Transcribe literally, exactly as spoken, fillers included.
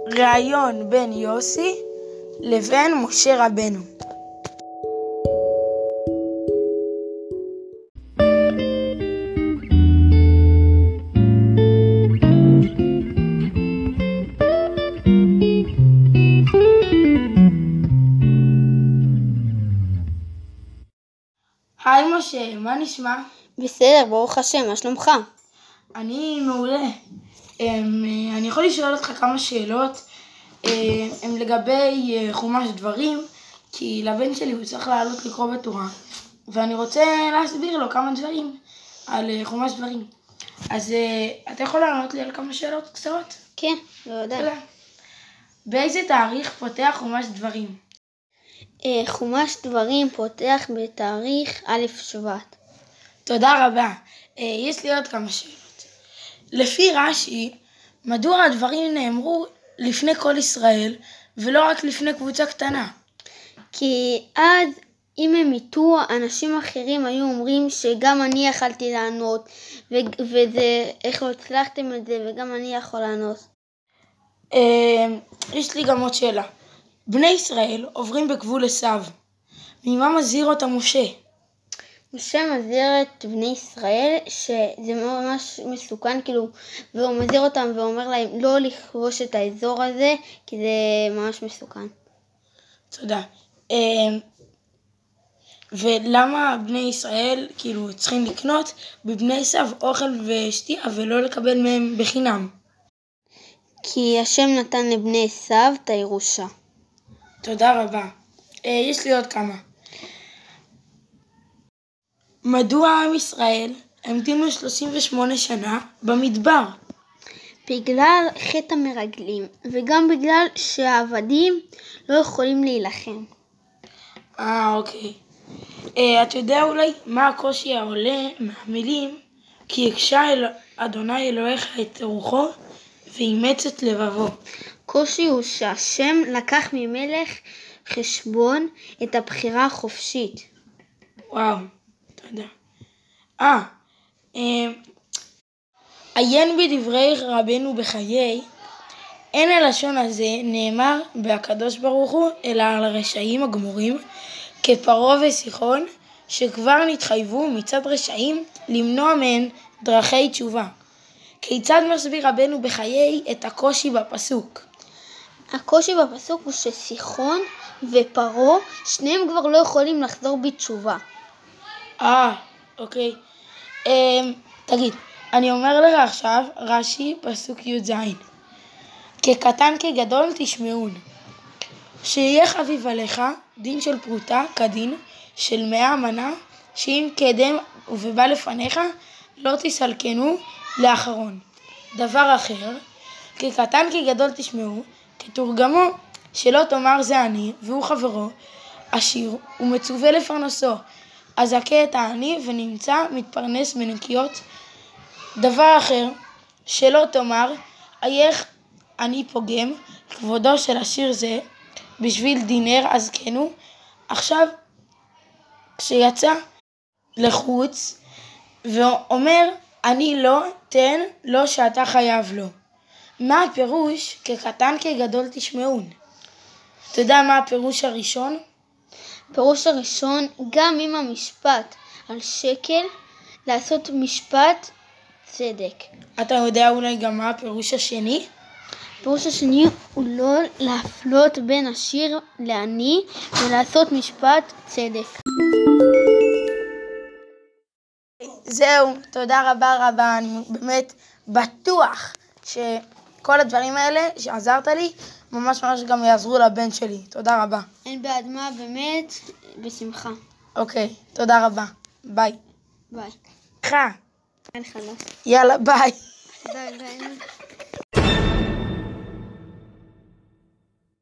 ראיון בין יוסי לבין משה רבנו. היי משה, מה נשמע? בסדר, ברוך השם, מה שלומך? אני מעולה. אני יכול לשאול אותך כמה שאלות הם לגבי חומש דברים, כי לבן שלי הוא צריך לעלות לקרוא בתורה, ואני רוצה להסביר לו כמה דברים על חומש דברים. אז אתה יכול לענות לי על כמה שאלות קצרות? כן, בוודאי. באיזה תאריך פותח חומש דברים? חומש דברים פותח בתאריך א' שבט. תודה רבה. יש לי עוד כמה שאלות. לפי רש"י, מדוע הדברים נאמרו לפני כל ישראל ולא רק לפני קבוצה קטנה? כי אז אם הם איתו, אנשים אחרים היו אומרים שגם אני יכלתי לענות, ו- וזה, איך לא הצלחתם את זה, וגם אני יכול לענות. יש לי גם עוד שאלה. בני ישראל עוברים בגבול עשיו. ממה מזהיר אותם משה? משה מזהיר את בני ישראל שזה ממש מסוכן, כאילו, והוא מזהיר אותם ואומר להם לא לכבוש את האזור הזה, כי זה ממש מסוכן. תודה. ולמה בני ישראל כאילו צריכים לקנות בבני עשיו אוכל ושתייה ולא לקבל מהם בחינם? כי השם נתן לבני עשיו את הירושה. תודה רבה. יש לי עוד כמה. מדוע עם ישראל המתינו שלושים ושמונה שנה במדבר? בגלל חטא המרגלים, וגם בגלל שהעבדים לא יכולים להילחם. אה, אוקיי. אה, אתה יודע אולי מה הקושי העולה מהמילים כי הקשה אל אדוני אלוהיך את רוחו ואימץ את לבבו? קושי הוא שהשם לקח ממלך חשבון את הבחירה החופשית. וואו, תודה. אה, אה, עיין בדברי רבנו בחיי, אין הלשון הזה נאמר בהקדוש ברוך הוא, אלא על הרשעים הגמורים, כפרעה וסיחון, שכבר נתחייבו מצד רשעים למנוע מהן דרכי תשובה. כיצד מסביר רבנו בחיי את הקושי בפסוק? הקושי בפסוק הוא שסיחון ופרעה, שניהם כבר לא יכולים לחזור בתשובה. אה, אוקיי. אה, תגיד, אני אומר לך עכשיו, רש"י פסוק י"ז. כקטן כגדול תשמעון. שיהיה חביב עליך דין של פרוטה כדין של מאה מנה, שאם קדם ובא לפניך לא תסלקנו לאחרון. דבר אחר, כקטן כגדול תשמעו, כתורגמו שלא תאמר זה אני והוא חברו, עשיר ומצווה לפרנסו, אז הכה את העני ונמצא מתפרנס מנקיות. דבר אחר, שלא תאמר אייך אני פוגם כבודו של עשיר זה בשביל דינר אז כנו. עכשיו כשיצא לחוץ ואומר אני לא תן לו שאתה חייב לו. מה הפירוש כקטן כגדול תשמעון? אתה יודע מה הפירוש הראשון? הפירוש הראשון, גם אם המשפט על שקל, לעשות משפט צדק. אתה יודע אולי גם מה הפירוש השני? הפירוש השני הוא לא להפלות בין עשיר לעני ולעשות משפט צדק. זהו, תודה רבה רבה, אני באמת בטוח שכל הדברים האלה שעזרת לי ממש ממש גם יעזרו לבן שלי. תודה רבה. אין בעד מה, באמת, בשמחה. אוקיי, תודה רבה. ביי. ביי. חי. אין חלוס. יאללה, ביי. ביי ביי.